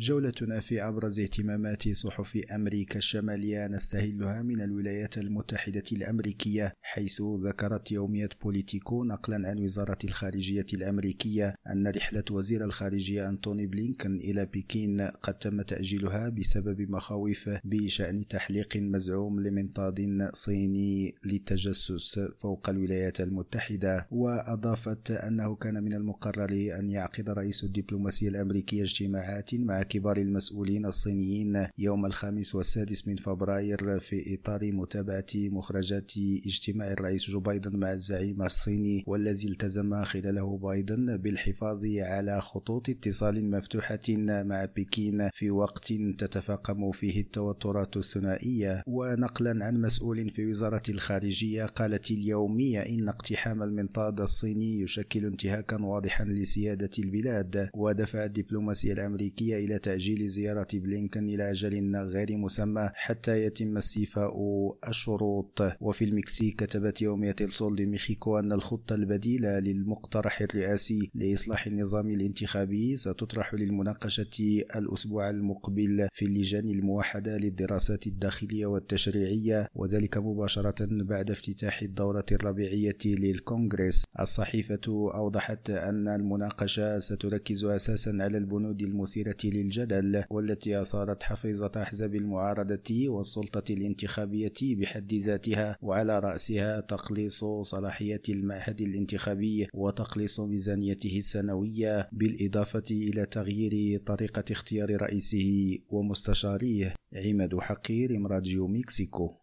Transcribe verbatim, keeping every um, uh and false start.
جولتنا في أبرز اهتمامات صحف أمريكا الشمالية نستهلها من الولايات المتحدة الأمريكية، حيث ذكرت يومية بوليتيكو نقلا عن وزارة الخارجية الأمريكية أن رحلة وزير الخارجية أنتوني بلينكن إلى بكين قد تم تأجيلها بسبب مخاوف بشأن تحليق مزعوم لمنطاد صيني للتجسس فوق الولايات المتحدة. وأضافت أنه كان من المقرر أن يعقد رئيس الدبلوماسية الأمريكية اجتماعات مع كبار المسؤولين الصينيين يوم الخامس والسادس من فبراير في إطار متابعة مخرجات اجتماع الرئيس جو بايدن مع الزعيم الصيني، والذي التزم خلاله بايدن بالحفاظ على خطوط اتصال مفتوحة مع بكين في وقت تتفاقم فيه التوترات الثنائية. ونقلا عن مسؤول في وزارة الخارجية، قالت اليومية إن اقتحام المنطاد الصيني يشكل انتهاكا واضحا لسيادة البلاد، ودفع الدبلوماسية الأمريكية إلى تأجيل زيارة بلينكن إلى أجل غير مسمى حتى يتم استيفاء الشروط. وفي المكسيك كتبت يومية السول دي ميخيكو أن الخطة البديلة للمقترح الرئاسي لإصلاح النظام الانتخابي ستطرح للمناقشة الأسبوع المقبل في اللجان الموحدة للدراسات الداخلية والتشريعية، وذلك مباشرة بعد افتتاح الدورة الربيعية للكونغرس. الصحيفة أوضحت أن المناقشة ستركز أساسا على البنود المثيرة للجدل والتي أثارت حفيظة أحزاب المعارضة والسلطة الانتخابية بحد ذاتها، وعلى رأسها تقليص صلاحيات المعهد الانتخابي وتقليص ميزانيته السنوية، بالإضافة إلى تغيير طريقة اختيار رئيسه ومستشاريه. عماد حقير، راديو مكسيكو.